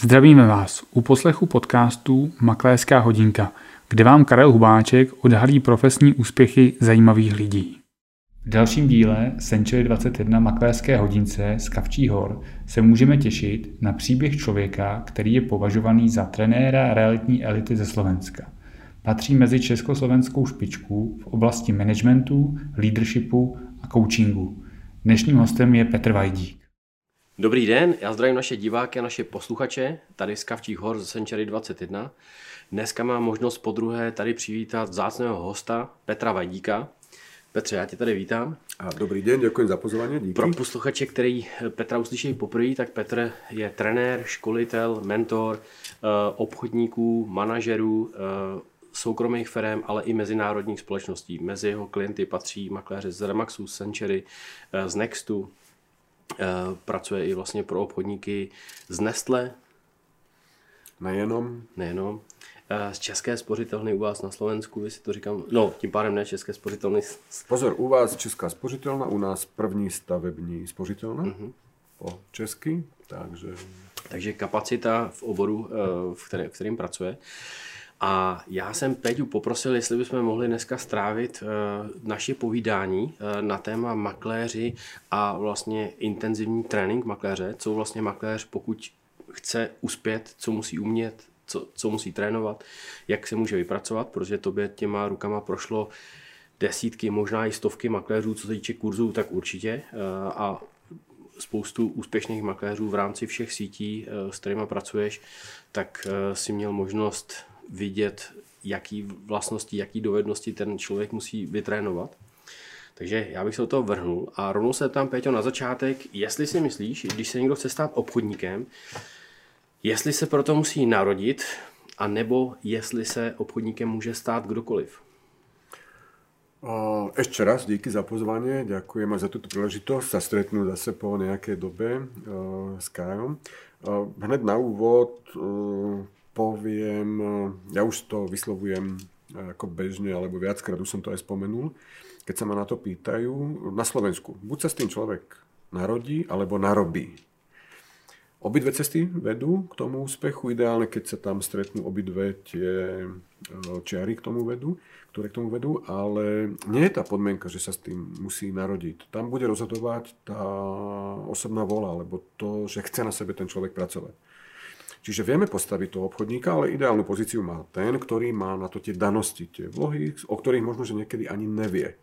Zdravíme vás u poslechu podcastu Makléřská hodinka, kde vám Karel Hubáček odhalí profesní úspěchy zajímavých lidí. V dalším díle Century 21 Makléřské hodince z Kavčích Hor se můžeme těšit na příběh člověka, který je považovaný za trenéra realitní elity ze Slovenska. Patří mezi československou špičku v oblasti managementu, leadershipu a coachingu. Dnešním hostem je Petr Vajdík. Dobrý den, já zdravím naše diváky a naše posluchače tady z Kavčích Hor z Century 21. Dneska mám možnost podruhé tady přivítat vzácného hosta Petra Vajdíka. Petře, já tě tady vítám. A dobrý den, děkuji za pozvání. Díky. Pro posluchače, který Petra uslyší poprvé, tak Petr je trenér, školitel, mentor obchodníků, manažerů, soukromých firm, ale i mezinárodních společností. Mezi jeho klienty patří makléři z Remaxu, z Century, z Nextu. Pracuje i vlastně pro obchodníky z Nestle. Nejenom. Z České spořitelny u vás na Slovensku, jestli to říkám, no tím pádem ne České spořitelny. Pozor, u vás Česká spořitelna, u nás první stavební spořitelna, po česky, Takže kapacita v oboru, v kterým pracuje. A já jsem Peťu poprosil, jestli bychom mohli dneska strávit naše povídání na téma makléři a vlastně intenzivní trénink makléře, co vlastně makléř, pokud chce uspět, co musí umět, co musí trénovat, jak se může vypracovat, protože tobě těma rukama prošlo desítky, možná i stovky makléřů, co se týče kurzů, tak určitě. A spoustu úspěšných makléřů v rámci všech sítí, s kterými pracuješ, tak si měl možnost vidět, jaký vlastnosti, jaký dovednosti ten člověk musí vytrénovat. Takže já bych se do toho vrhnul a rovnou se ptám, Péťo, na začátek, jestli si myslíš, když se někdo chce stát obchodníkem, jestli se proto musí narodit, anebo jestli se obchodníkem může stát kdokoliv. Ešte raz díky za pozvanie, ďakujem aj za túto príležitosť sa stretnúť zase po nejakej dobe s Kajom. Hned na úvod poviem, ja už to vyslovujem ako bežne, alebo viackrát už som to aj spomenul, keď sa ma na to pýtajú, na Slovensku, buď sa s tým človek narodí, alebo narobí. Obidve cesty vedú k tomu úspechu, ideálne, keď sa tam stretnú obidve tie čiary ktoré k tomu vedú, ale nie je tá podmienka, že sa s tým musí narodiť. Tam bude rozhodovať tá osobná vôľa, alebo to, že chce na sebe ten človek pracovať. Čiže vieme postaviť toho obchodníka, ale ideálnu pozíciu má ten, ktorý má na to tie danosti, tie vlohy, o ktorých možno, že niekedy ani nevie.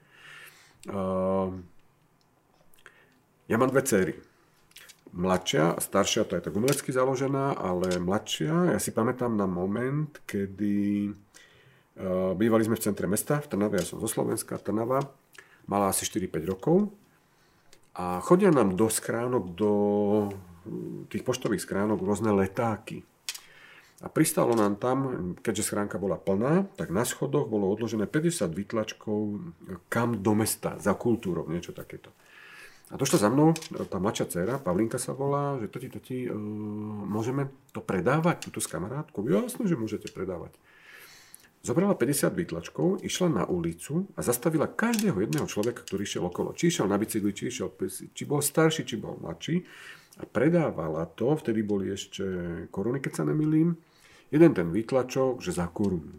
Ja mám dve dcery. Mladšia a staršia, to je tak umelecky založená, ale mladšia, ja si pamätám na moment, kedy bývali sme v centre mesta, v Trnave, ja som zo Slovenska, Trnava, mala asi 4-5 rokov a chodia nám do schránok, do tých poštových schránok rôzne letáky. A pristalo nám tam, keďže schránka bola plná, tak na schodoch bolo odložené 50 výtlačkov kam do mesta, za kultúrou, niečo takéto. A došla za mnou tá mladšia dcéra, Pavlinka sa volá, že tati, môžeme to predávať, túto s kamarátkou? Jasne, že môžete predávať. Zobrala 50 výtlačkov, išla na ulicu a zastavila každého jedného človeka, ktorý išiel okolo. Či išiel na bicykli, či bol starší, či bol mladší. A predávala to, vtedy boli ešte koruny, keď sa nemýlim, jeden ten výtlačok, že za korunu.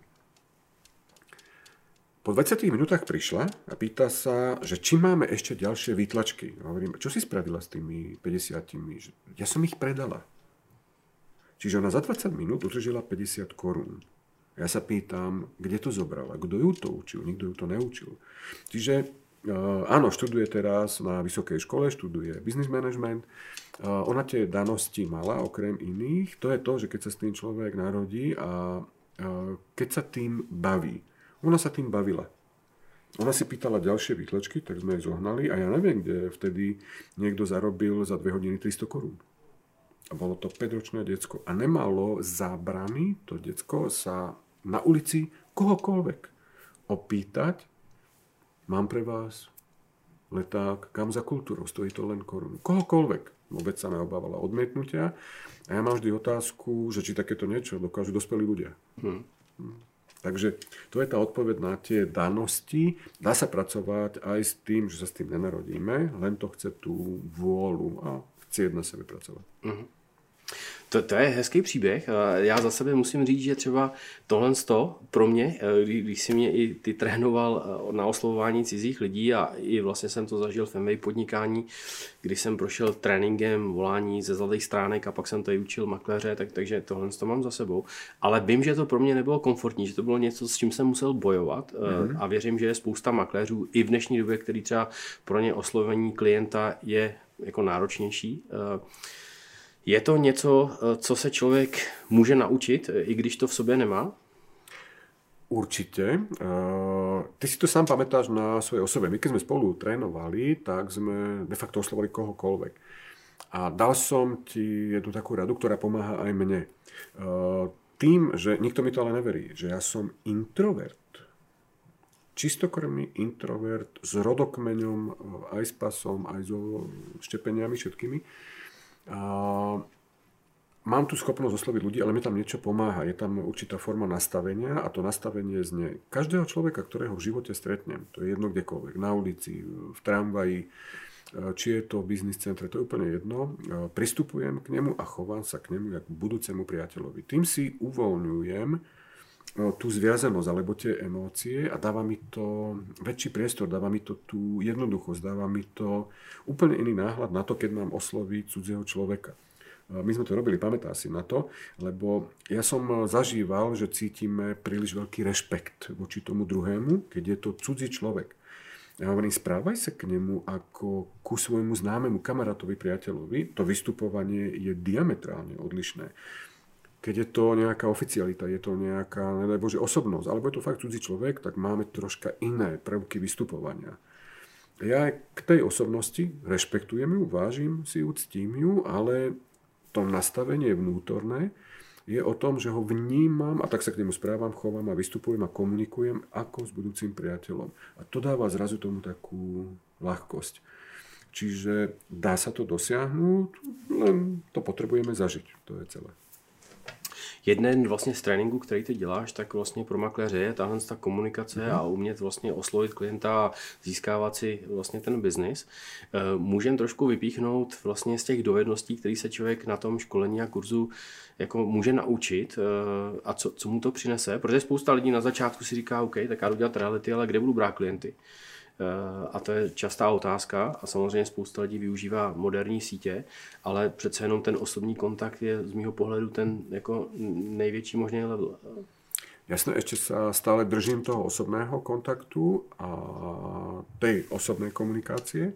Po 20 minútach prišla a pýta sa, že či máme ešte ďalšie výtlačky. Hovorím, čo si spravila s tými 50? Ja som ich predala. Čiže ona za 20 minút utržila 50 korún. Ja sa pýtam, kde to zobrala, kto ju to učil, nikto ju to neučil. Čiže áno, študuje teraz na vysokej škole, študuje business management. Ona tie danosti mala, okrem iných. To je to, že keď sa s tým človek narodí a keď sa tým baví. Ona sa tým bavila. Ona si pýtala ďalšie výtlačky, tak sme jej zohnali a ja neviem, kde vtedy niekto zarobil za 2 hodiny 300 korún. A bolo to 5-ročné decko. A nemalo zábrany to decko sa na ulici kohokoľvek opýtať, mám pre vás leták, kam za kultúrou, stojí to len korunu. Kohokoľvek. Vôbec sa neobávala odmietnutia. A ja mám vždy otázku, že či takéto niečo dokážu dospelí ľudia. Takže to je tá odpoveď na tie danosti. Dá sa pracovať aj s tým, že sa s tým nenarodíme, len to chce tú vôľu a chcieť na sebe pracovať. To je hezký příběh. Já za sebe musím říct, že třeba tohle pro mě, když si mě i ty trénoval na oslovování cizích lidí a i vlastně jsem to zažil v MBA podnikání, když jsem prošel tréninkem volání ze zlatých stránek a pak jsem tady učil makléře, takže tohle to mám za sebou. Ale vím, že to pro mě nebylo komfortní, že to bylo něco, s čím jsem musel bojovat a věřím, že je spousta makléřů i v dnešní době, který třeba pro ně oslovení klienta je jako náročnější. Je to něco, co se člověk může naučit, i když to v sobě nemá? Určite. Ty si to sám pamätáš na svojej osobe. My keď sme spolu trénovali, tak sme de facto oslovali kohokoľvek. A dal som ti jednu takú radu, ktorá pomáha aj mne. Tým, že nikto mi to ale neverí, že ja som introvert. Čistokrvný introvert s rodokmeňom, aj s pasom, aj so štepeniami všetkými. Mám tu schopnosť osloviť ľudí, ale mi tam niečo pomáha. Je tam určitá forma nastavenia a to nastavenie znie každého človeka, ktorého v živote stretnem, to je jedno kdekoľvek, na ulici, v tramvaji, či je to v biznis centre, to je úplne jedno. Pristupujem k nemu a chovám sa k nemu ako k budúcemu priateľovi. Tým si uvoľňujem tú zviazanosť alebo tie emócie a dáva mi to väčší priestor, dáva mi to tú jednoduchosť, dáva mi to úplne iný náhľad na to, keď mám osloviť cudzieho človeka. My sme to robili, pamätá si na to, lebo ja som zažíval, že cítime príliš veľký rešpekt voči tomu druhému, keď je to cudzí človek. Ja hovorím, správaj sa k nemu ako ku svojmu známemu kamarátovi, priateľovi. To vystupovanie je diametrálne odlišné. Keď je to nejaká oficialita, je to nejaká, nedaj Bože, osobnosť, alebo je to fakt cudzí človek, tak máme troška iné prvky vystupovania. Ja k tej osobnosti rešpektujem ju, vážim si ju, ctím ju, ale to nastavenie vnútorné je o tom, že ho vnímam a tak sa k nemu správam, chovám a vystupujem a komunikujem ako s budúcim priateľom. A to dáva zrazu tomu takú ľahkosť. Čiže dá sa to dosiahnuť, len to potrebujeme zažiť. To je celé. Jeden vlastně z tréninku, který ty děláš, tak vlastně pro makléře je tahle ta komunikace a umět vlastně oslovit klienta a získávat si vlastně ten biznis. Můžeme trošku vypíchnout vlastně z těch dovedností, které se člověk na tom školení a kurzu jako může naučit a co mu to přinese, protože spousta lidí na začátku si říká, OK, tak já jdu dělat reality, ale kde budu brát klienty? A to je častá otázka a samozřejmě spousta lidí využívá moderní sítě, ale přece jenom ten osobní kontakt je z mýho pohledu ten jako největší možný level. Jasné, ešte sa stále držím toho osobného kontaktu a tej osobnej komunikácie.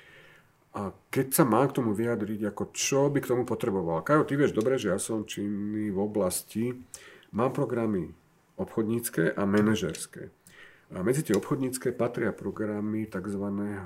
A keď sa mám k tomu vyjadriť, ako čo by k tomu potreboval. Kajo, ty vieš dobre, že ja som činný v oblasti, mám programy obchodnícke a manažerské. A medzi tie obchodnícke patria programy tzv.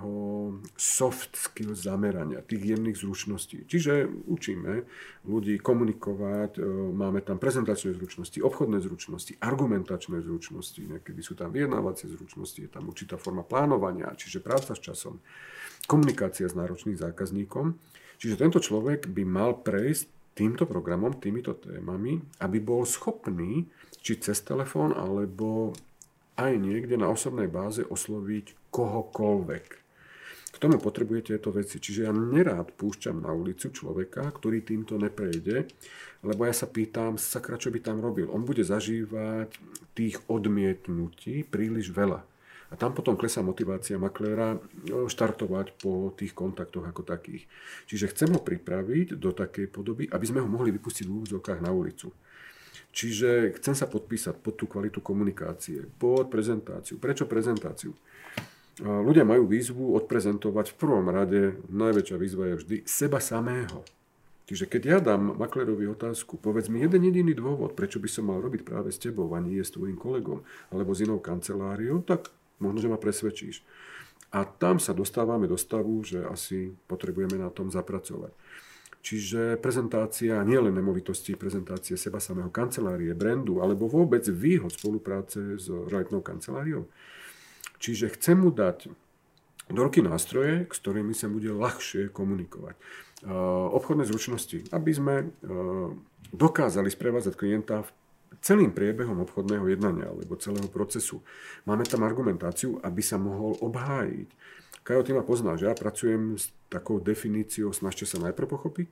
Soft skills zamerania, tých jemných zručností. Čiže učíme ľudí komunikovať, máme tam prezentačné zručnosti, obchodné zručnosti, argumentačné zručnosti, niekedy sú tam vyjednávacie zručnosti, je tam určitá forma plánovania, čiže práca s časom, komunikácia s náročným zákazníkom. Čiže tento človek by mal prejsť týmto programom, týmito témami, aby bol schopný, či cez telefón, alebo aj niekde na osobnej báze osloviť kohokoľvek. K tomu potrebujete tieto veci. Čiže ja nerád púšťam na ulicu človeka, ktorý týmto neprejde, lebo ja sa pýtam, sakra, čo by tam robil. On bude zažívať tých odmietnutí príliš veľa. A tam potom klesá motivácia makléra štartovať po tých kontaktoch ako takých. Čiže chcem ho pripraviť do takej podoby, aby sme ho mohli vypustiť v úvodzovkách na ulicu. Čiže chcem sa podpísať pod tú kvalitu komunikácie, pod prezentáciu. Prečo prezentáciu? Ľudia majú výzvu odprezentovať v prvom rade, najväčšia výzva je vždy seba samého. Čiže keď ja dám maklérovi otázku, povedz mi jeden jediný dôvod, prečo by som mal robiť práve s tebou a nie s tvojím kolegom alebo s inou kanceláriou, tak možno, že ma presvedčíš. A tam sa dostávame do stavu, že asi potrebujeme na tom zapracovať. Čiže prezentácia nielen nemovitosti, prezentácie seba samého, kancelárie, brandu, alebo vôbec výhod spolupráce s realitnou kanceláriou. Čiže chcem mu dať do ruky nástroje, s ktorými sa bude ľahšie komunikovať. Obchodné zručnosti, aby sme dokázali sprevádzať klienta celým priebehom obchodného jednania alebo celého procesu. Máme tam argumentáciu, aby sa mohol obhájiť. Kajo, ty ma poznáš, ja pracujem s takou definíciou snažte sa najprv pochopiť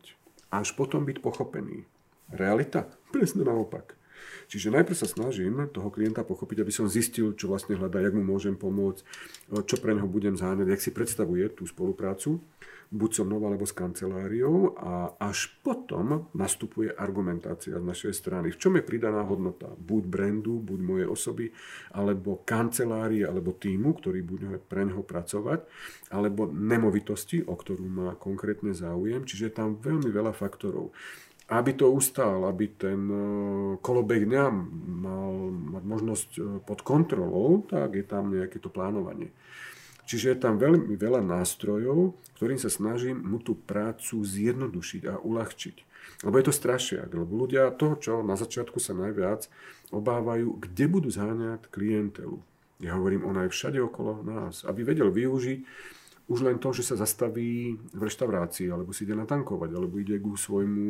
až potom byť pochopený. Realita? Presne naopak. Čiže najprv sa snažím toho klienta pochopiť, aby som zistil, čo vlastne hľadá, jak mu môžem pomôcť, čo pre neho budem zháňať, jak si predstavuje tú spoluprácu, buď so mnou alebo s kanceláriou, a až potom nastupuje argumentácia z našej strany. V čom je pridaná hodnota? Buď brandu, buď mojej osoby, alebo kancelárie, alebo týmu, ktorý bude pre neho pracovať, alebo nemovitosti, o ktorú má konkrétne záujem. Čiže je tam veľmi veľa faktorov. Aby to ustál, aby ten kolobeh dňa mal mať možnosť pod kontrolou, tak je tam nejaké to plánovanie. Čiže je tam veľmi veľa nástrojov, ktorým sa snažím mu tú prácu zjednodušiť a uľahčiť. Lebo je to strašiak, lebo ľudia toho, čo na začiatku sa najviac obávajú, kde budú zháňať klientelu. Ja hovorím, ona je všade okolo nás, aby vedel využiť už len to, že sa zastaví v reštaurácii, alebo si ide natankovať, alebo ide ku svojmu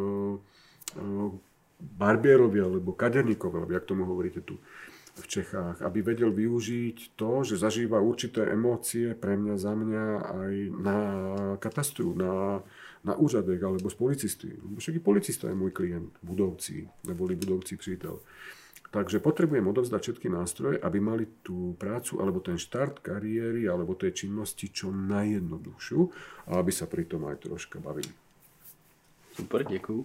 barbierovi, alebo kaderníkovi, alebo jak tomu hovoríte tu v Čechách, aby vedel využiť to, že zažíva určité emócie pre mňa, za mňa aj na katastru, na úřadech, alebo s policisty. Však i policista je môj klient, budovci, neboli budovci přítel. Takže potrebujem odovzdať všetky nástroje, aby mali tú prácu, alebo ten štart kariéry, alebo tej činnosti čo najjednoduchšiu a aby sa pri tom aj troška bavili. Super, děkuju.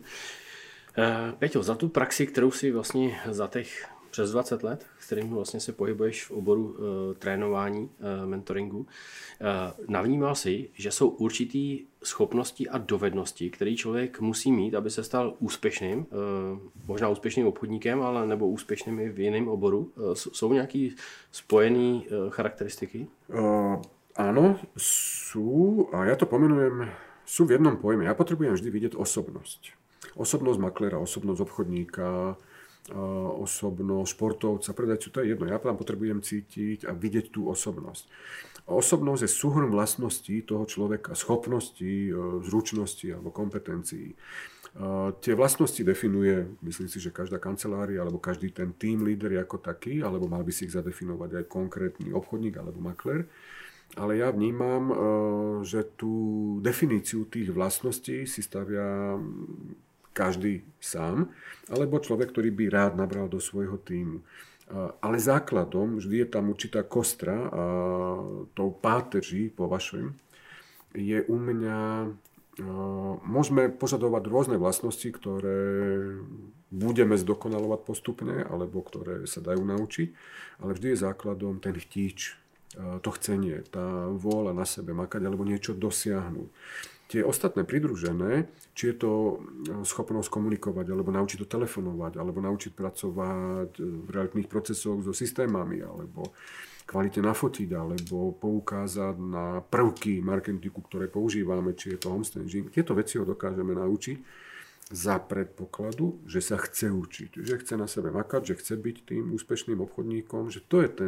Peťo, za tu praxi, kterou si vlastně za těch přes 20 let, kterým vlastně se pohybuješ v oboru trénování, mentoringu, navnímal si, že jsou určitý schopnosti a dovednosti, které člověk musí mít, aby se stal úspěšným, možná úspěšným obchodníkem, ale nebo úspěšným i v jiném oboru. Jsou nějaké spojené charakteristiky? Áno, sú, a ja to pomenujem, sú v jednom pojme. Ja potrebujem vždy vidieť osobnosť. Osobnosť maklera, osobnosť obchodníka, osobnosť športovca, predajcu, to je jedno. Ja tam potrebujem cítiť a vidieť tú osobnosť. Osobnosť je súhrn vlastností toho človeka, schopností, zručností alebo kompetencií. Tie vlastnosti definuje, myslím si, že každá kancelária alebo každý ten team leader ako taký, alebo mal by si ich zadefinovať aj konkrétny obchodník alebo makler. Ale ja vnímam, že tú definíciu tých vlastností si stavia každý sám, alebo človek, ktorý by rád nabral do svojho tímu. Ale základom vždy je tam určitá kostra a tou páteří po vašom je u mňa, môžeme požadovať rôzne vlastnosti, ktoré budeme zdokonalovať postupne, alebo ktoré sa dajú naučiť, ale vždy je základom ten chtíč, to chcenie, tá vôľa na sebe makať alebo niečo dosiahnuť. Tie ostatné pridružené, či je to schopnosť komunikovať, alebo naučiť to telefonovať, alebo naučiť pracovať v realitných procesoch so systémami, alebo kvalitne nafotiť, alebo poukázať na prvky marketingu, ktoré používame, či je to homestaging. Tieto veci ho dokážeme naučiť za predpokladu, že sa chce učiť, že chce na sebe makať, že chce byť tým úspešným obchodníkom, že to je ten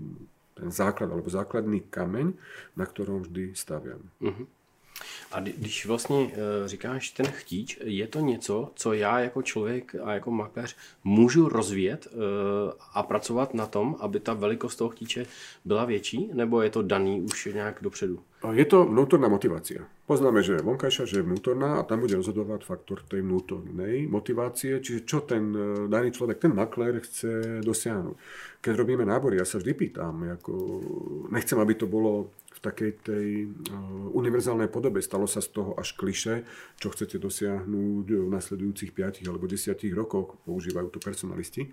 základ, alebo základný kameň, na ktorom vždy staviam. Uh-huh. A když vlastně říkáš ten chtíč, je to něco, co já jako člověk a jako makléř můžu rozvíjet a pracovat na tom, aby ta velikost toho chtíče byla větší, nebo je to daný už nějak dopředu? Je to vnútorná motivácia. Poznáme, že je vonkajšia, že je vnútorná a tam bude rozhodovať faktor tej vnútornej motivácie, čiže čo ten daný človek, ten maklér chce dosiahnuť. Keď robíme nábory, ja sa vždy pýtam, nechcem, aby to bolo v takej tej univerzálnej podobe, stalo sa z toho až klišé, čo chcete dosiahnuť v nasledujúcich 5 alebo 10 rokoch, používajú to personalisti.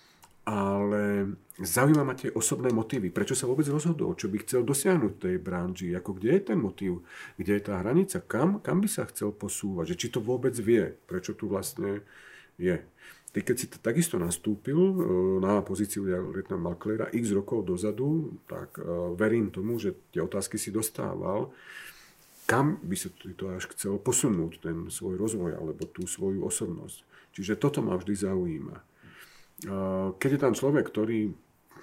Ale zaujíma ma tie osobné motívy. Prečo sa vôbec rozhodol? Čo by chcel dosiahnuť v tej branži? Kde je ten motív? Kde je tá hranica? Kam by sa chcel posúvať? Že či to vôbec vie? Prečo tu vlastne je? Ty, keď si takisto nastúpil na pozíciu realitného makléra x rokov dozadu, tak verím tomu, že tie otázky si dostával. Kam by sa to až chcel posunúť, ten svoj rozvoj alebo tú svoju osobnosť? Čiže toto ma vždy zaujíma. Keď je tam človek, ktorý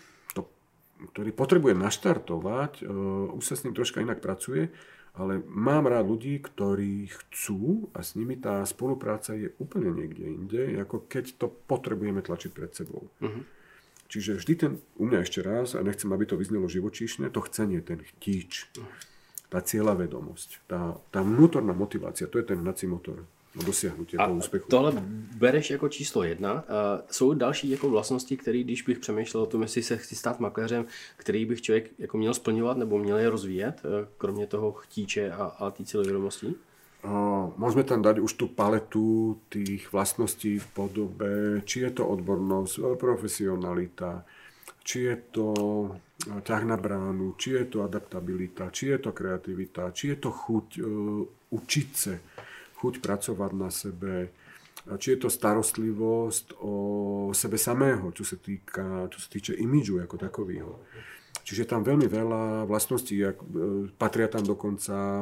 potrebuje naštartovať, už sa s ním troška inak pracuje, ale mám rád ľudí, ktorí chcú a s nimi tá spolupráca je úplne niekde inde, ako keď to potrebujeme tlačiť pred sebou. Uh-huh. Čiže vždy u mňa ešte raz, a nechcem, aby to vyznelo živočíšne, to chcenie, ten chtíč, tá cieľavedomosť, tá vnútorná motivácia, to je ten hnací motor. dosiahnutie toho úspechu. Tohle bereš jako číslo 1. Jsou další jako vlastnosti, které, když bych přemýšlel o tom, jestli se chci stát makléřem, který bych člověk jako měl splňovat nebo měl je rozvíjet, kromě toho chtíče a té cílevědomostí? Môžeme tam dať už tú paletu tých vlastností v podobe, či je to odbornosť, profesionalita, či je to ťah na bránu, či je to adaptabilita, či je to kreativita, či je to chuť učiť sa, chuť pracovať na sebe, či je to starostlivosť o sebe samého, čo sa týče imidžu ako takového. Čiže je tam veľmi veľa vlastností, patria tam dokonca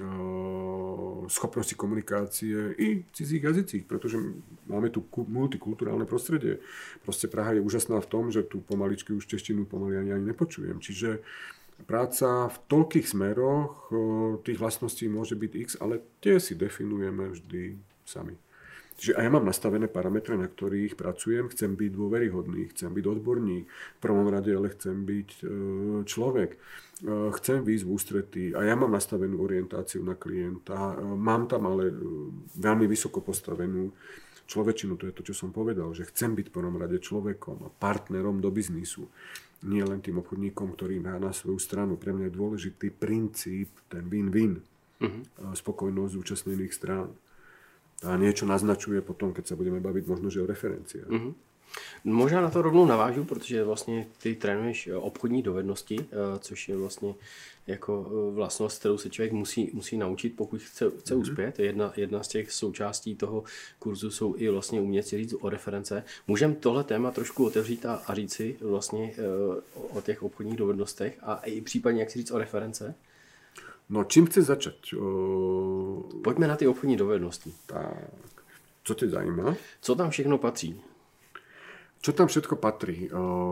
schopnosti komunikácie i v cudzích jazycích, pretože máme tu multikulturálne prostredie. Proste Praha je úžasná v tom, že tu pomaličky už češtinu pomaly ani nepočujem. Čiže práca v toľkých smeroch tých vlastností môže byť x, ale tie si definujeme vždy sami. Čiže a ja mám nastavené parametre, na ktorých pracujem. Chcem byť dôveryhodný, chcem byť odborník. V prvom rade ale chcem byť človek. Chcem výjsť v ústretí a ja mám nastavenú orientáciu na klienta. Mám tam ale veľmi vysoko postavenú človečinu. To je to, čo som povedal, že chcem byť v prvom rade človekom a partnerom do biznisu. Nie len tým obchodníkom, ktorý má na svoju stranu. Pre mňa je dôležitý princíp, ten win-win. Spokojnosť zúčastnených strán. A niečo naznačuje potom, keď sa budeme baviť možno, že o referenciách. Možná na to rovnou navážu, protože vlastně ty trénuješ obchodní dovednosti, což je vlastně jako vlastnost, kterou se člověk musí naučit, pokud chce uspět. Jedna z těch součástí toho kurzu jsou i vlastně umět si říct o reference. Můžeme tohle téma trošku otevřít a říct si vlastně o těch obchodních dovednostech a i případně jak si říct o reference? No, čím chceš začať? Pojďme na ty obchodní dovednosti. Tak, co tě zajímá? Co tam všechno patří? Čo tam všetko patrí?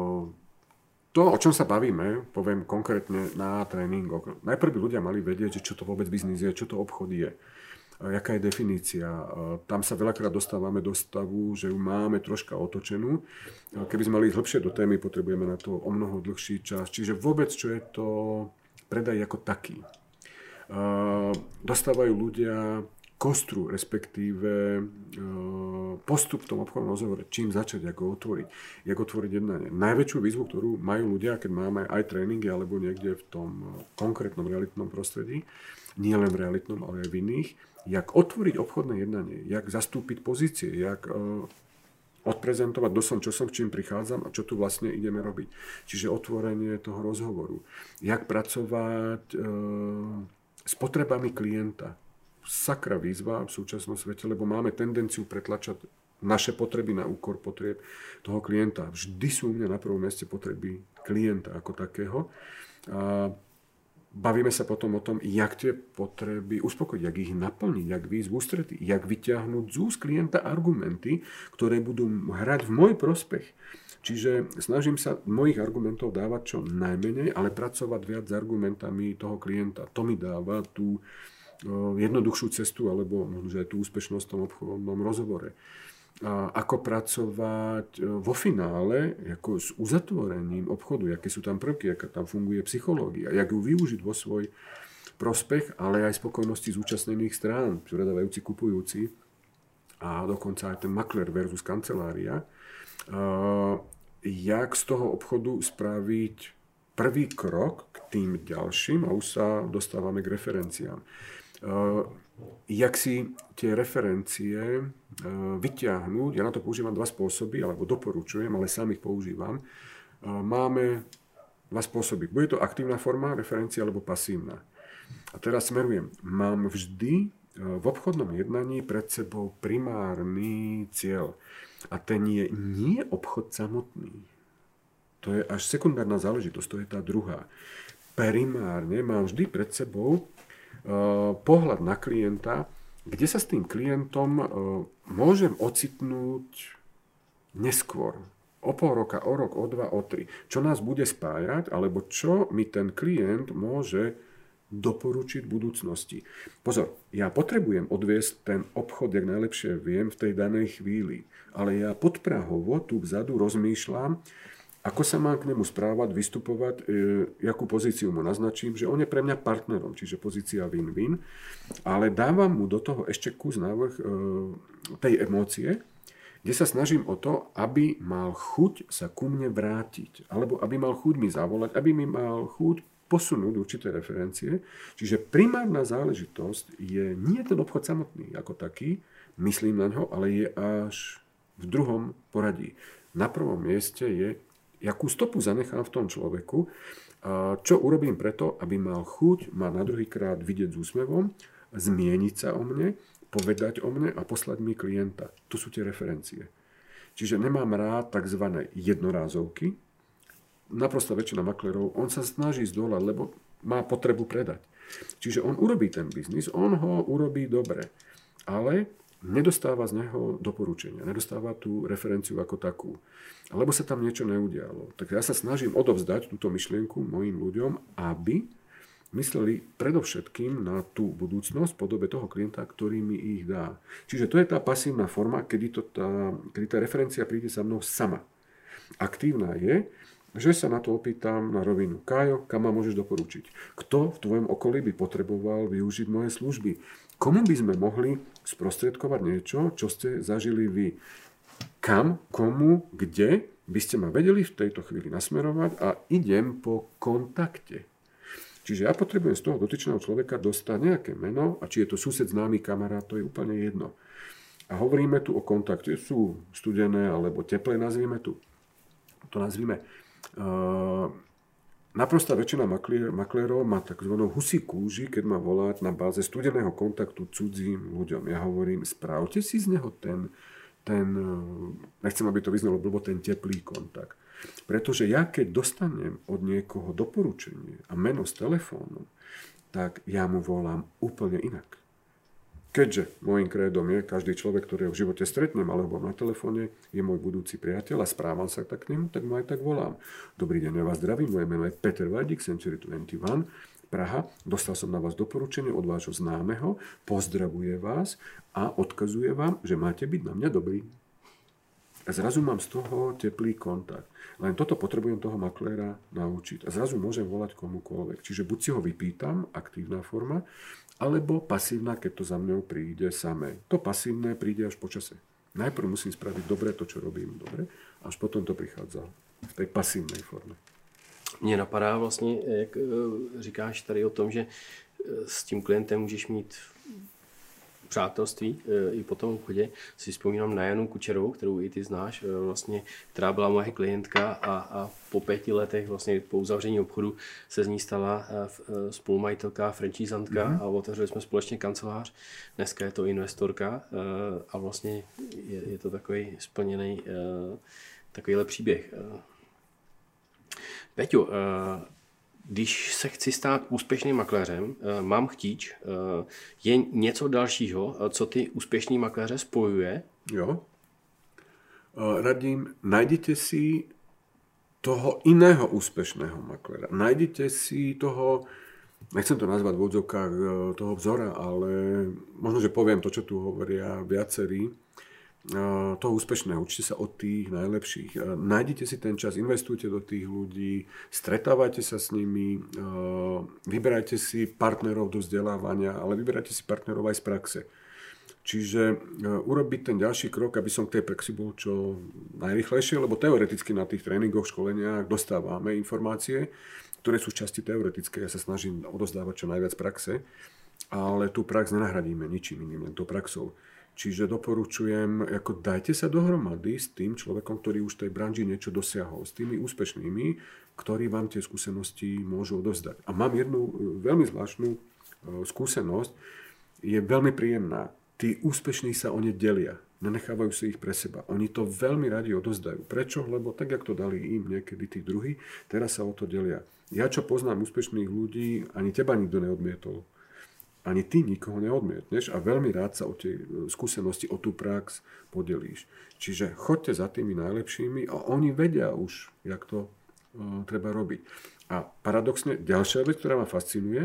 To, o čom sa bavíme, poviem konkrétne na tréningoch. Najprv by ľudia mali vedieť, že čo to vôbec biznis je, čo to obchod je. Jaká je definícia. Tam sa veľakrát dostávame do stavu, že ju máme troška otočenú. Keby sme mali ísť hlbšie do témy, potrebujeme na to o mnoho dlhší čas. Čiže vôbec, čo je to predaj ako taký. Dostávajú ľudia kostru, respektíve postup v tom obchodnom rozhovore, čím začať, ako otvoriť jednanie. Najväčšiu výzvu, ktorú majú ľudia, keď máme aj tréningy alebo niekde v tom konkrétnom realitnom prostredí, nie len v realitnom, ale aj v iných, jak otvoriť obchodné jednanie, jak zastúpiť pozície, jak odprezentovať, kto som, čo som, s čím prichádzam a čo tu vlastne ideme robiť. Čiže otvorenie toho rozhovoru. Jak pracovať s potrebami klienta. Sakra výzva v súčasnom svete, lebo máme tendenciu pretlačať naše potreby na úkor potrieb toho klienta. Vždy sú u mňa na prvom mieste potreby klienta ako takého. A bavíme sa potom o tom, jak tie potreby uspokojiť, jak ich naplniť, jak výjsť v ústretí, jak vyťahnuť z úst klienta argumenty, ktoré budú hrať v môj prospech. Čiže snažím sa mojich argumentov dávať čo najmenej, ale pracovať viac s argumentami toho klienta. To mi dáva tú jednoduchšiu cestu, alebo možno, že aj tú úspešnosť v tom obchodnom rozhovore. A ako pracovať vo finále ako s uzatvorením obchodu, aké sú tam prvky, aká tam funguje psychológia, jak ju využiť vo svoj prospech, ale aj spokojnosti zúčastnených strán, predávajúci, kupujúci a dokonca aj ten maklér versus kancelária. Jak z toho obchodu spraviť prvý krok k tým ďalším a už sa dostávame k referenciám. Jak si tie referencie vyťahnuť, ja na to používam dva spôsoby, alebo doporučujem, ale sám ich používam. Máme dva spôsoby. Bude to aktívna forma referencia alebo pasívna. A teraz smerujem. Mám vždy v obchodnom jednaní pred sebou primárny cieľ. A ten je nie obchod samotný. To je až sekundárna záležitosť, to je tá druhá. Primárne mám vždy pred sebou pohľad na klienta, kde sa s tým klientom môžem ocitnúť neskôr. O pol roka, o rok, o dva, o tri. Čo nás bude spájať, alebo čo mi ten klient môže doporučiť v budúcnosti. Pozor, ja potrebujem odviesť ten obchod, jak najlepšie viem, v tej danej chvíli. Ale ja podprahovo tu vzadu rozmýšľam, ako sa mám k nemu správať, vystupovať, jakú pozíciu mu naznačím, že on je pre mňa partnerom, čiže pozícia win-win, ale dávam mu do toho ešte kus návrh tej emócie, kde sa snažím o to, aby mal chuť sa ku mne vrátiť, alebo aby mal chuť mi zavolať, aby mi mal chuť posunúť určité referencie. Čiže primárna záležitosť je nie ten obchod samotný ako taký, myslím na ňo, ale je až v druhom poradí. Na prvom mieste je, jakú stopu zanechám v tom človeku, a čo urobím preto, aby mal chuť ma na druhýkrát vidieť s úsmevom, zmieniť sa o mne, povedať o mne a poslať mi klienta. Tu sú tie referencie. Čiže nemám rád tzv. Jednorázovky. Naprosto väčšina maklerov, on sa snaží zdolať, lebo má potrebu predať. Čiže on urobí ten biznis, on ho urobí dobre, ale nedostáva z neho doporučenia, nedostáva tú referenciu ako takú. Alebo sa tam niečo neudialo. Tak ja sa snažím odovzdať túto myšlienku mojim ľuďom, aby mysleli predovšetkým na tú budúcnosť v podobe toho klienta, ktorý mi ich dá. Čiže to je tá pasívna forma, kedy tá referencia príde za mnou sama. Aktívna je, že sa na to opýtam na rovinu. Kájo, kam ma môžeš doporučiť? Kto v tvojom okolí by potreboval využiť moje služby? Komu by sme mohli sprostredkovať niečo, čo ste zažili vy? Kam, komu, kde by ste ma vedeli v tejto chvíli nasmerovať a idem po kontakte. Čiže ja potrebujem z toho dotyčného človeka dostať nejaké meno a či je to sused, známy, kamarát, to je úplne jedno. A hovoríme tu o kontakte. Sú studené alebo teplé, nazvime to nazvime. Naprostá väčšina maklérov má takzvanú husí kúži, keď má volať na báze studeného kontaktu cudzím ľuďom. Ja hovorím, správte si z neho ten nechcem, aby to vyznalo blbo, ten teplý kontakt. Pretože ja, keď dostanem od niekoho doporučenie a meno s telefónom, tak ja mu volám úplne inak. Keďže môjim krédom je, každý človek, ktorého v živote stretnem alebo na telefóne, je môj budúci priateľ a správam sa tak k nemu, tak mu aj tak volám. Dobrý deň, ja vás zdravím, moje meno je Peter Vajdik, Century 21, Praha. Dostal som na vás doporučenie od vášho známeho, pozdravuje vás a odkazuje vám, že máte byť na mňa dobrý. A zrazu mám z toho teplý kontakt. Len toto potrebujem toho makléra naučiť. A zrazu môžem volať komukoľvek. Čiže buď si ho vypýtam, aktívna forma, alebo pasívna, keď to za mňou príde samé. To pasívne príde až po čase. Najprv musím spraviť dobre to, čo robím dobre, až potom to prichádza v tej pasívnej forme. Mně napadá vlastně, jak říkáš tady o tom, že s tím klientem můžeš mít přátelství i po tom obchodě. Si vzpomínám na Janu Kučerovou, kterou i ty znáš, vlastně, která byla moje klientka a po 5 letech vlastně po uzavření obchodu se z ní stala spolumajitelka, franchisantka a otevřeli jsme společně kancelář. Dneska je to investorka a vlastně je to takový splněný takovýhle příběh. Peťo, když se chci stát úspěšným makléřem, mám chtíč, je něco dalšího, co ty úspěšný makléře spojuje? Jo. Radím, najděte si toho iného úspešného makléra. Najděte si toho, nechcem to nazvať v odzokách toho vzora, ale možno, že poviem to, čo tu hovoria viacerí, toho úspešného, učite sa od tých najlepších. Nájdite si ten čas, investujte do tých ľudí, stretávajte sa s nimi, vyberajte si partnerov do vzdelávania, ale vyberajte si partnerov aj z praxe. Čiže urobiť ten ďalší krok, aby som k tej praxi bol čo najrýchlejšie, lebo teoreticky na tých tréningoch, školeniach dostávame informácie, ktoré sú časti teoretické. Ja sa snažím odozdávať čo najviac praxe, ale tú prax nenahradíme ničím iným, len tou praxou. Čiže doporučujem, ako dajte sa dohromady s tým človekom, ktorý už v tej branži niečo dosiahol, s tými úspešnými, ktorí vám tie skúsenosti môžu odovzdať. A mám jednu veľmi zvláštnu skúsenosť, je veľmi príjemná. Tí úspešní sa o ne delia, nenechávajú si ich pre seba. Oni to veľmi radi odovzdajú. Prečo? Lebo tak, jak to dali im niekedy tí druhí, teraz sa o to delia. Ja, čo poznám úspešných ľudí, ani teba nikto neodmietol. Ani ty nikoho neodmietneš a veľmi rád sa o tie skúsenosti, o tú prax podelíš. Čiže choďte za tými najlepšími a oni vedia už, jak to treba robiť. A paradoxne, ďalšia vec, ktorá ma fascinuje,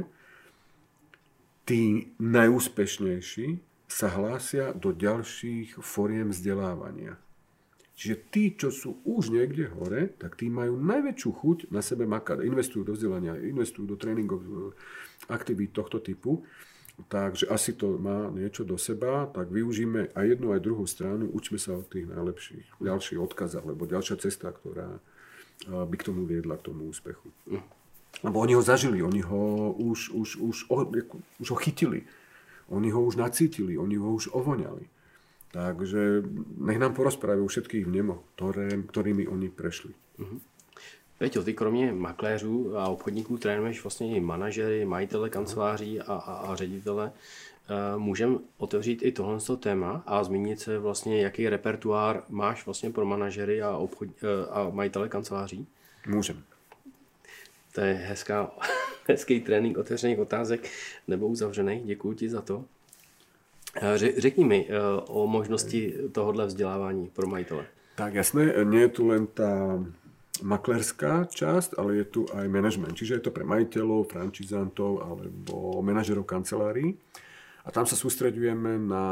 tí najúspešnejší sa hlásia do ďalších foriem vzdelávania. Čiže tí, čo sú už niekde hore, tak tí majú najväčšiu chuť na sebe makať. Investujú do vzdelania, investujú do tréningov, aktivít tohto typu. Takže asi to má niečo do seba, tak využíme aj jednu, aj druhú stranu, učme sa od tých najlepších. Ďalší odkaz, alebo ďalšia cesta, ktorá by k tomu viedla, k tomu úspechu. Lebo oni ho zažili, oni ho už ho chytili, oni ho už nacítili, oni ho už ovoňali. Takže nech nám porozprávajú všetkých vnemoch, ktorými oni prešli. Peťo, ty kromě makléřů a obchodníků trénuješ vlastně i manažery, majitele kanceláří a ředitele. Můžeme otevřít i tohle téma a zmínit se vlastně, jaký repertoár máš vlastně pro manažery a majitele kanceláří? Můžeme. To je hezký trénink otevřených otázek nebo uzavřených. Děkuji ti za to. Řekni mi o možnosti tohohle vzdělávání pro majitele. Tak jasné, nie je tu len tá maklérská časť, ale je tu aj management. Čiže je to pre majiteľov, frančizantov alebo manažerov kancelárií. A tam sa sústreďujeme na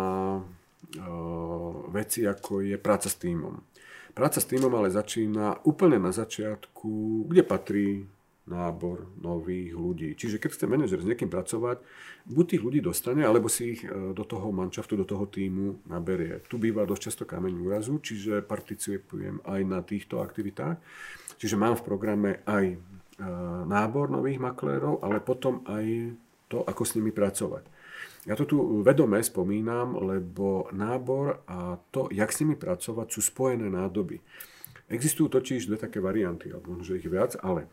veci, ako je práca s tímom. Práca s tímom ale začína úplne na začiatku, kde patrí nábor nových ľudí. Čiže keď chce manažer s niekým pracovať, buď tých ľudí dostane, alebo si ich do toho manšaftu, do toho tímu naberie. Tu býva dosť často kameň úrazu, čiže participujem aj na týchto aktivitách. Čiže mám v programe aj nábor nových maklérov, ale potom aj to, ako s nimi pracovať. Ja to tu vedome spomínam, lebo nábor a to, jak s nimi pracovať, sú spojené nádoby. Existujú totiž dve také varianty, alebo možno ich viac, ale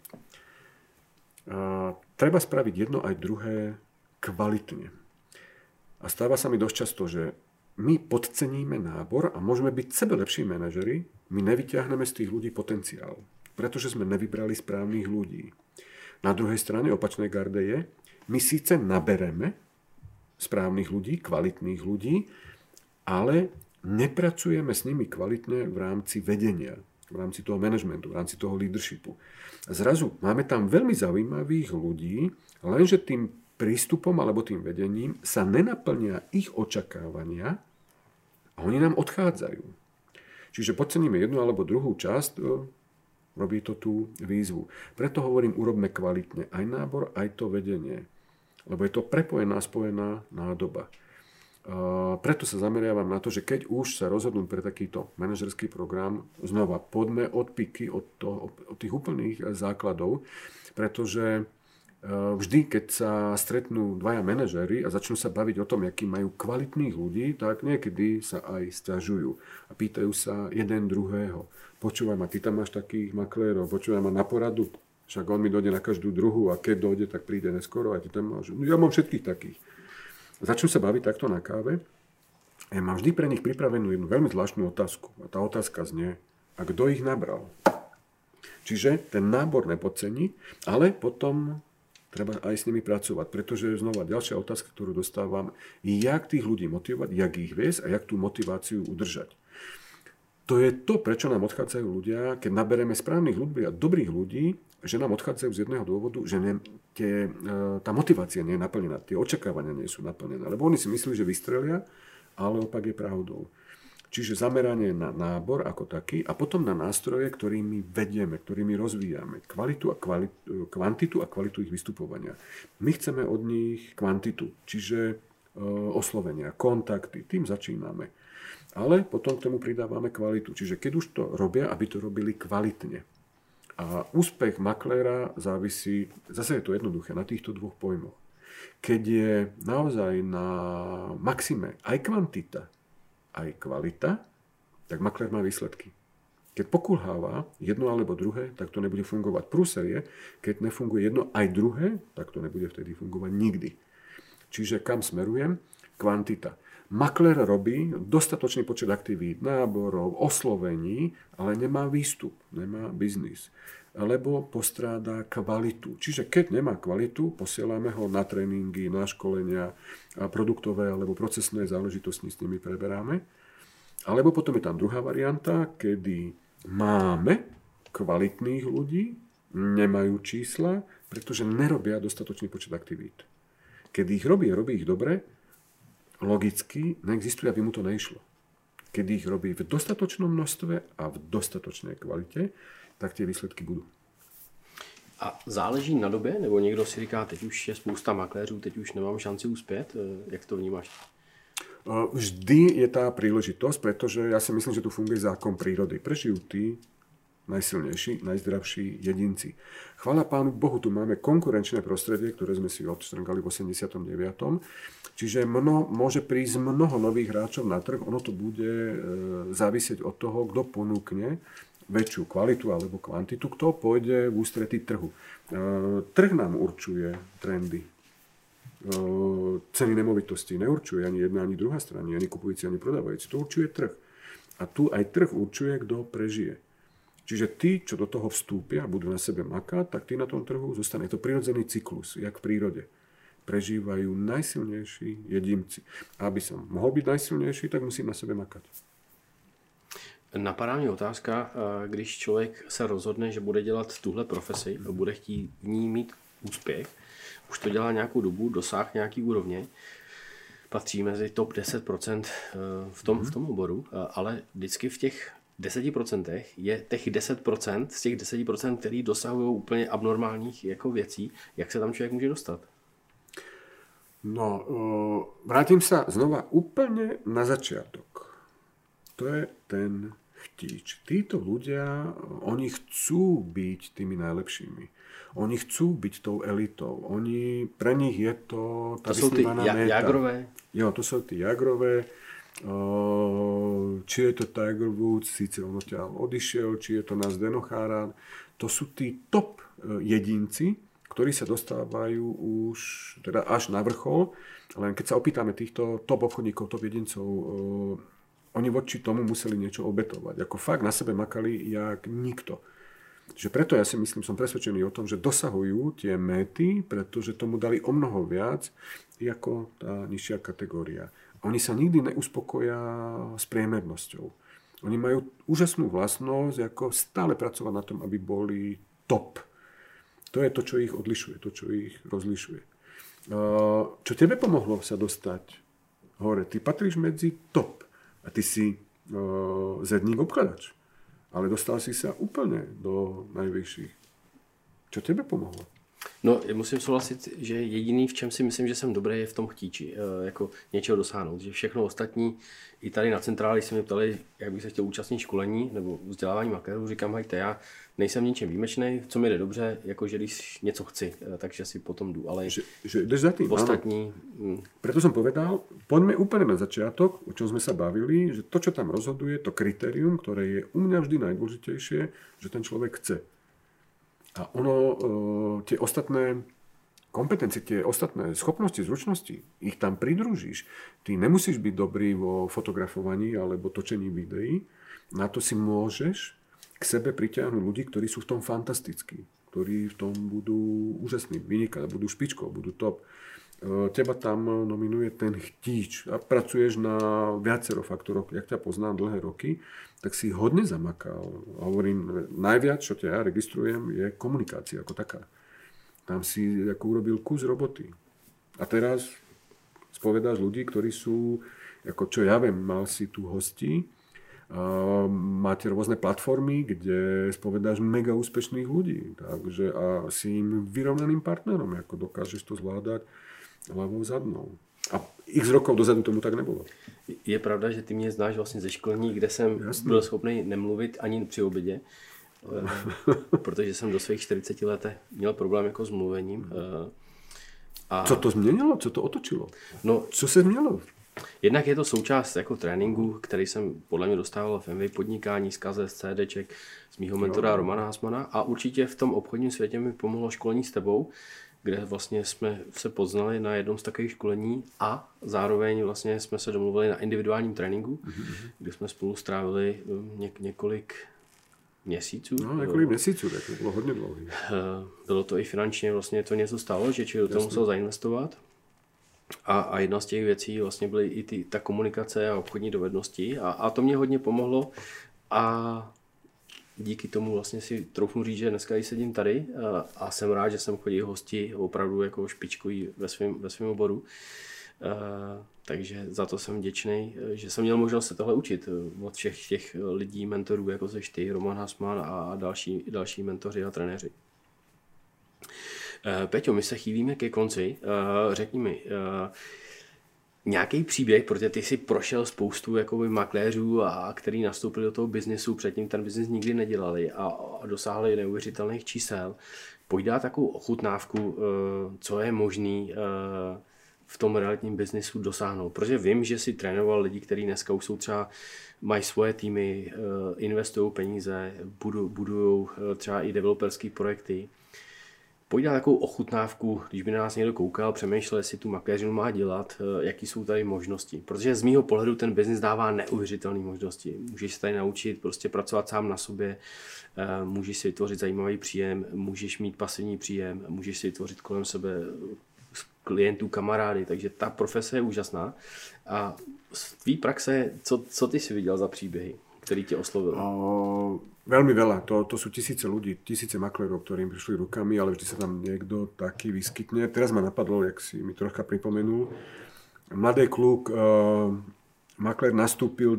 treba spraviť jedno aj druhé kvalitne. A stáva sa mi dosť často, že my podceníme nábor a môžeme byť sebe lepší manažeri, my nevyťahneme z tých ľudí potenciál, pretože sme nevybrali správnych ľudí. Na druhej strane opačnej garde je, my síce nabereme správnych ľudí, kvalitných ľudí, ale nepracujeme s nimi kvalitne v rámci vedenia, v rámci toho manažmentu, v rámci toho leadershipu. A zrazu máme tam veľmi zaujímavých ľudí, lenže tým prístupom alebo tým vedením sa nenaplnia ich očakávania a oni nám odchádzajú. Čiže podceníme jednu alebo druhú časť, robí to tú výzvu. Preto hovorím, urobme kvalitne aj nábor, aj to vedenie. Lebo je to prepojená, spojená nádoba. Preto sa zameriavam na to, že keď už sa rozhodnú pre takýto manažerský program, znova poďme od piky, od tých úplných základov, pretože vždy, keď sa stretnú dvaja manažéri a začnú sa baviť o tom, akí majú kvalitných ľudí, tak niekedy sa aj sťažujú a pýtajú sa jeden druhého. Počúvaj ma, ty tam máš takých maklérov, počúvaj ma na poradu, však on mi dojde na každú druhú a keď dojde, tak príde neskoro a ty tam máš. No, ja mám všetkých takých. Začnú sa baviť takto na káve a ja mám vždy pre nich pripravenú jednu veľmi zvláštnu otázku. A tá otázka znie, a kto ich nabral? Čiže ten nábor nepodcení, ale potom treba aj s nimi pracovať, pretože znova ďalšia otázka, ktorú dostávam, je, jak tých ľudí motivovať, jak ich viesť a jak tú motiváciu udržať. To je to, prečo nám odchádzajú ľudia, keď nabereme správnych ľudí a dobrých ľudí, že nám odchádzajú z jedného dôvodu, že tá motivácia nie je naplnená, tie očakávania nie sú naplnené, lebo oni si myslí, že vystrelia, ale opak je pravdou. Čiže zameranie na nábor ako taký a potom na nástroje, ktorými vedieme, ktorými rozvíjame kvantitu a kvalitu ich vystupovania. My chceme od nich kvantitu, čiže oslovenia, kontakty, tým začíname. Ale potom k tomu pridávame kvalitu. Čiže keď už to robia, aby to robili kvalitne. A úspech makléra závisí, zase je to jednoduché, na týchto dvoch pojmoch. Keď je naozaj na maxime aj kvantita, aj kvalita, tak maklér má výsledky. Keď pokulháva jedno alebo druhé, tak to nebude fungovať. Prúser je, keď nefunguje jedno aj druhé, tak to nebude vtedy fungovať nikdy. Čiže kam smerujem? Kvantita. Maklér robí dostatočný počet aktivít, náborov, oslovení, ale nemá výstup, nemá biznis. Lebo postráda kvalitu. Čiže keď nemá kvalitu, posielame ho na tréningy, na školenia, produktové alebo procesné záležitosti s nimi preberáme. Alebo potom je tam druhá varianta, kedy máme kvalitných ľudí, nemajú čísla, pretože nerobia dostatočný počet aktivít. Keď ich robí ich dobre, logicky neexistuje, aby mu to neišlo. keď ich robí v dostatočnom množstve a v dostatočnej kvalite, tak tie výsledky budú. A záleží na době? Nebo někdo si říká, teď už je spousta makléřů, teď už nemám šanci uspět? Jak to vnímáš? Vždy je tá príležitosť, pretože ja si myslím, že tu funguje zákon prírody. Prežijú tí najsilnejší, najzdravší jedinci. Chvála Pánu Bohu, tu máme konkurenčné prostredie, ktoré sme si odštrngali v 89. Čiže môže prísť mnoho nových hráčov na trh. Ono to bude závisieť od toho, kto ponúkne väčšiu kvalitu alebo kvantitu, kto pôjde v ústretí trhu. Trh nám určuje trendy. Ceny nemovitosti neurčuje ani jedna, ani druhá strana, ani kupujúci, ani prodávajúci. To určuje trh. A tu aj trh určuje, kto prežije. Čiže tí, čo do toho vstúpia a budú na sebe makať, tak tí na tom trhu zostane. Je to prirodzený cyklus, jak v prírode. Prežívajú najsilnejší jedinci. A aby som mohol byť najsilnejší, tak musím na sebe makať. Napadá mě otázka, když člověk se rozhodne, že bude dělat tuhle profesi a bude chtít v ní mít úspěch, už to dělá nějakou dobu, dosáh nějaký úrovně, patří mezi top 10% v tom oboru, ale vždycky v těch 10% je těch 10% z těch 10%, který dosahují úplně abnormálních jako věcí. Jak se tam člověk může dostat? No, vrátim sa znova úplne na začiatok. To je ten chtíč. Títo ľudia, oni chcú byť tými najlepšími. Oni chcú byť tou elitou. Pre nich je to tá vysnívaná meta. Jagrové? Jo, to sú tí jagrové. Či je to Tiger Woods, síce on odtiaľ odišiel, či je to nás Denochára. To sú tí top jedinci, ktorí sa dostávajú už teda až na vrchol. Len keď sa opýtame týchto top obchodníkov, top jedincov, oni voči tomu museli niečo obetovať. Ako fakt na sebe makali jak nikto. Že preto ja si myslím, som presvedčený o tom, že dosahujú tie méty, pretože tomu dali o mnoho viac ako tá nižšia kategória. Oni sa nikdy neuspokoja s priemernosťou. Oni majú úžasnú vlastnosť, ako stále pracovať na tom, aby boli top. To je to, čo ich odlišuje, to, čo ich rozlišuje. Čo tebe pomohlo sa dostať hore? Ty patríš medzi top. A ty si zedník obkladač. Ale dostal si sa úplne do najvyšších. Čo tebe pomohlo? No, musím souhlasit, že jediný, v čem si myslím, že jsem dobrý, je v tom chtíči, jako něčeho dosáhnout. Že všechno ostatní, i tady na centráli se mě ptali, jak bych se chtěl účastnit školení nebo vzdělávání makérů. Říkám, hejte, já nejsem ničem výjimečný, co mi jde dobře, jakože když něco chci, takže si potom jdu. Ale že jdeš za tým, ostatní... Preto som povedal, poďme úplne na začiatok, o čom sme sa bavili, že to, čo tam rozhoduje, to kritérium, ktoré je u mňa vždy najdôležitejšie, že ten človek chce. A tie ostatné kompetencie, tie ostatné schopnosti, zručnosti, ich tam pridružíš. Ty nemusíš byť dobrý vo fotografovaní alebo točení videí. Na to si môžeš k sebe pritiahnuť ľudí, ktorí sú v tom fantastickí, ktorí v tom budú úžasní, vynikať, budú špičkou, budú top. Teba tam nominuje ten chtíč a pracuješ na viacero faktoroch. Jak ťa poznám dlhé roky, tak si hodne zamakal. A hovorím, najviac, čo ťa ja registrujem, je komunikácia ako taká. Tam si ako urobil kus roboty. A teraz spovedáš ľudí, ktorí sú, ako čo ja viem, mal si tu hostí, máte rôzne platformy, kde spovedáš mega úspešných ľudí. Takže a si im vyrovnaným partnerom, ako dokážeš to zvládať hlavou zadnou. A x rokov dozadu tomu tak nebylo. Je pravda, že ty mě znáš vlastně ze školní, kde jsem byl schopný nemluvit ani při obědě, protože jsem do svých 40 let měl problém jako s mluvením. A... Co to změnilo? Co to otočilo? No, co se změnilo? Jednak je to součást jako tréninku, který jsem podle mě dostával v MV podnikání, z KZ, CDček, z mýho mentora Romana Hasmana, a určitě v tom obchodním světě mi pomohlo školení s tebou, kde vlastně jsme se poznali na jednom z takových školení a zároveň vlastně jsme se domluvili na individuálním tréninku, kde jsme spolu strávili několik měsíců. No, několik měsíců, tak to bylo hodně dlouhý. Bylo to i finančně, vlastně to něco stálo, že člověk do toho musel zainvestovat. A jedna z těch věcí vlastně byly i ta komunikace a obchodní dovednosti a to mě hodně pomohlo a díky tomu vlastně si troufnu říct, že dneska sedím tady a jsem rád, že jsem chodil hosti opravdu jako špičkový ve svém oboru. Takže za to jsem vděčný, že jsem měl možnost se tohle učit od všech těch lidí, mentorů, jako seš ty, Roman Hasman a další mentoři a trenéři. Peťo, my se chýlíme ke konci. Řekni mi, nějaký příběh, protože ty jsi prošel spoustu jakoby makléřů, a který nastoupili do toho biznesu, předtím ten biznis nikdy nedělali a dosáhli neuvěřitelných čísel. Pojď dát takovou ochutnávku, co je možný v tom realitním biznesu dosáhnout. Protože vím, že jsi trénoval lidi, kteří dneska už jsou třeba, mají svoje týmy, investují peníze, budují třeba i developerské projekty. Pojď dát takovou ochutnávku, když by na nás někdo koukal, přemýšlel, jestli tu makléřinu má dělat, jaký jsou tady možnosti. Protože z mýho pohledu ten biznis dává neuvěřitelné možnosti. Můžeš se tady naučit prostě pracovat sám na sobě, můžeš si vytvořit zajímavý příjem, můžeš mít pasivní příjem, můžeš si vytvořit kolem sebe klientů, kamarády, takže ta profese je úžasná. A z tvý praxe, co ty si viděl za příběhy, který tě oslovil? Veľmi veľa. To sú tisíce ľudí, tisíce maklérov, ktorým prišli rukami, ale vždy sa tam niekto taký vyskytne. Teraz ma napadlo, jak si mi trocha pripomenul. Mladý kluk, maklér nastúpil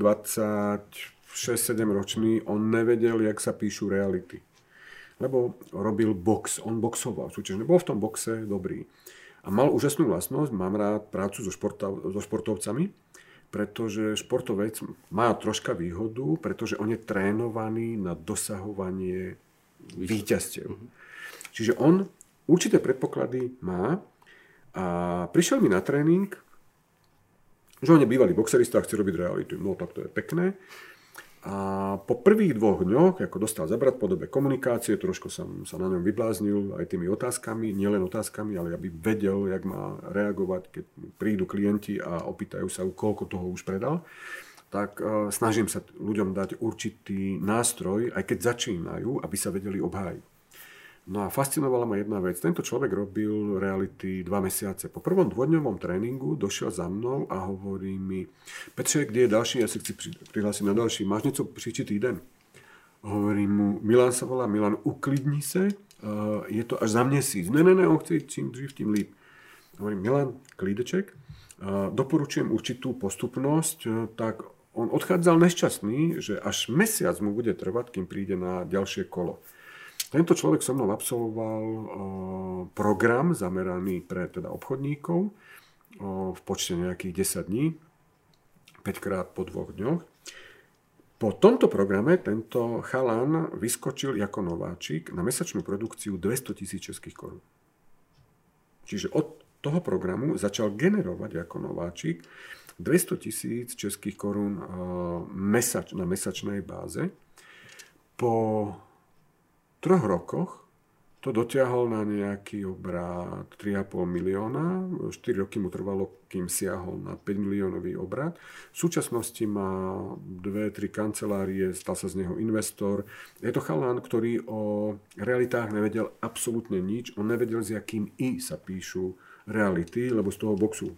26-7 ročný, on nevedel, jak sa píšu reality. Lebo robil box, on boxoval súťažne, bol v tom boxe dobrý. A mal úžasnú vlastnosť, mám rád prácu so športovcami, pretože športovec má troška výhodu, pretože on je trénovaný na dosahovanie víťazstiev. Čiže on určité predpoklady má a prišiel mi na tréning, že on je bývalý boxerista a chce robiť realitu. No tak to je pekné. A po prvých 2 dňoch, ako dostal zabrať po dobe komunikácie, trošku som sa na ňom vybláznil aj tými otázkami, nielen otázkami, ale aby vedel, jak má reagovať, keď prídu klienti a opýtajú sa, koľko toho už predal, tak snažím sa ľuďom dať určitý nástroj, aj keď začínajú, aby sa vedeli obhájiť. No a fascinovala ma jedna vec. Tento človek robil reality 2 mesiace. Po prvom 2-dňovom tréningu došiel za mnou a hovorí mi: Petře, kde je ďalší? Ja si chci prihlásiť na ďalší. Máš niečo příští týden? Hovorím mu, Milan sa volá, Milan, uklidni se, je to až za měsíc. Ne, on chce ísť čím dřív, tím líp. Hovorím, Milan, klídeček, doporučujem určitú postupnosť, tak on odchádzal nešťastný, že až mesiac mu bude trvať, kým príde na ďalšie kolo. Tento človek so mnou absolvoval program zameraný pre teda obchodníkov v počte nejakých 10 dní, 5 krát po 2 dňoch. Po tomto programe tento chalan vyskočil ako nováčik na mesačnú produkciu 200 000 českých korún. Čiže od toho programu začal generovať ako nováčik 200 000 českých korún na mesačnej báze. Po 3 rokoch to dotiahol na nejaký obrat 3,5 milióna. 4 roky mu trvalo, kým siahol na 5 miliónový obrat. V súčasnosti má 2-3 kancelárie, stal sa z neho investor. Je to chalán, ktorý o realitách nevedel absolútne nič. On nevedel, s jakým I sa píšu reality, lebo z toho boxu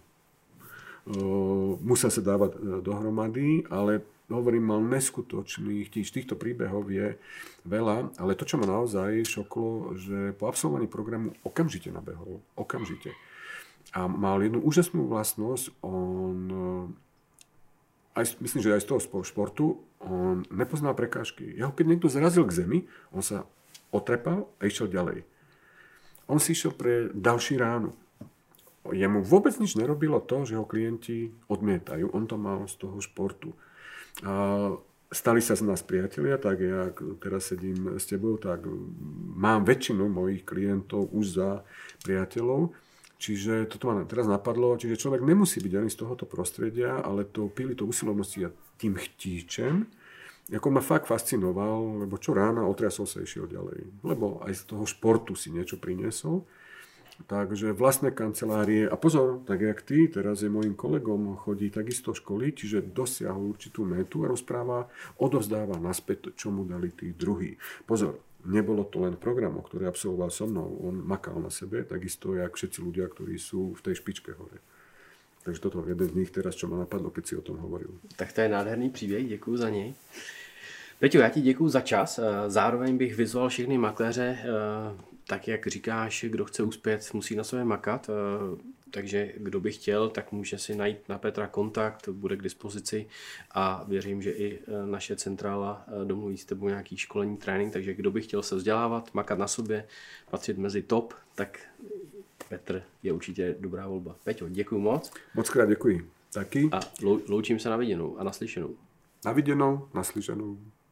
musel sa dávať dohromady, ale hovorím, mal neskutočných, týchto príbehov je veľa, ale to, čo ma naozaj šoklo, že po absolvovaní programu okamžite nabehol. Okamžite. A mal jednu úžasnú vlastnosť, myslím, že aj z toho športu, on nepoznal prekážky. Keď niekto zrazil k zemi, on sa otrepal a išiel ďalej. On si išiel pre ďalší ránu. Jemu vôbec nič nerobilo to, že ho klienti odmietajú. On to mal z toho športu. Stali sa z nás priatelia, tak ja teraz sedím s tebou, tak mám väčšinu mojich klientov už za priateľov. Čiže toto ma teraz napadlo, čiže človek nemusí byť ani z tohoto prostredia, ale to usilovnosti a tým chtíčem, ako ma fakt fascinoval, lebo čo rána otriasol sa išiel ďalej. Lebo aj z toho športu si niečo priniesol. Takže vlastné kancelárie, a pozor, tak jak ty, teraz je môjim kolegom, chodí takisto školy, čiže dosiahol určitú metu a rozpráva, odovzdáva naspäť, čo mu dali tí druhí. Pozor, nebolo to len program, ktorý absolvoval so mnou, on makal na sebe, takisto jak všetci ľudia, ktorí sú v tej špičke hore. Takže toto je jeden z nich teraz, čo ma napadlo, keď si o tom hovoril. Tak to je nádherný příběh, děkuji za něj. Peťo, já ti děkuju za čas. Zároveň bych vyzval všechny makléře, tak jak říkáš, kdo chce uspět, musí na sobě makat. Takže kdo by chtěl, tak může si najít na Petra kontakt, bude k dispozici a věřím, že i naše centrála domluví s tebou nějaký školení, trénink, takže kdo by chtěl se vzdělávat, makat na sobě, patřit mezi top, tak Petr je určitě dobrá volba. Peťo, děkuju moc. Moc krát děkuji. Taky. A loučím se na viděnou a naslyšenou. Na viděnou, naslyšenou.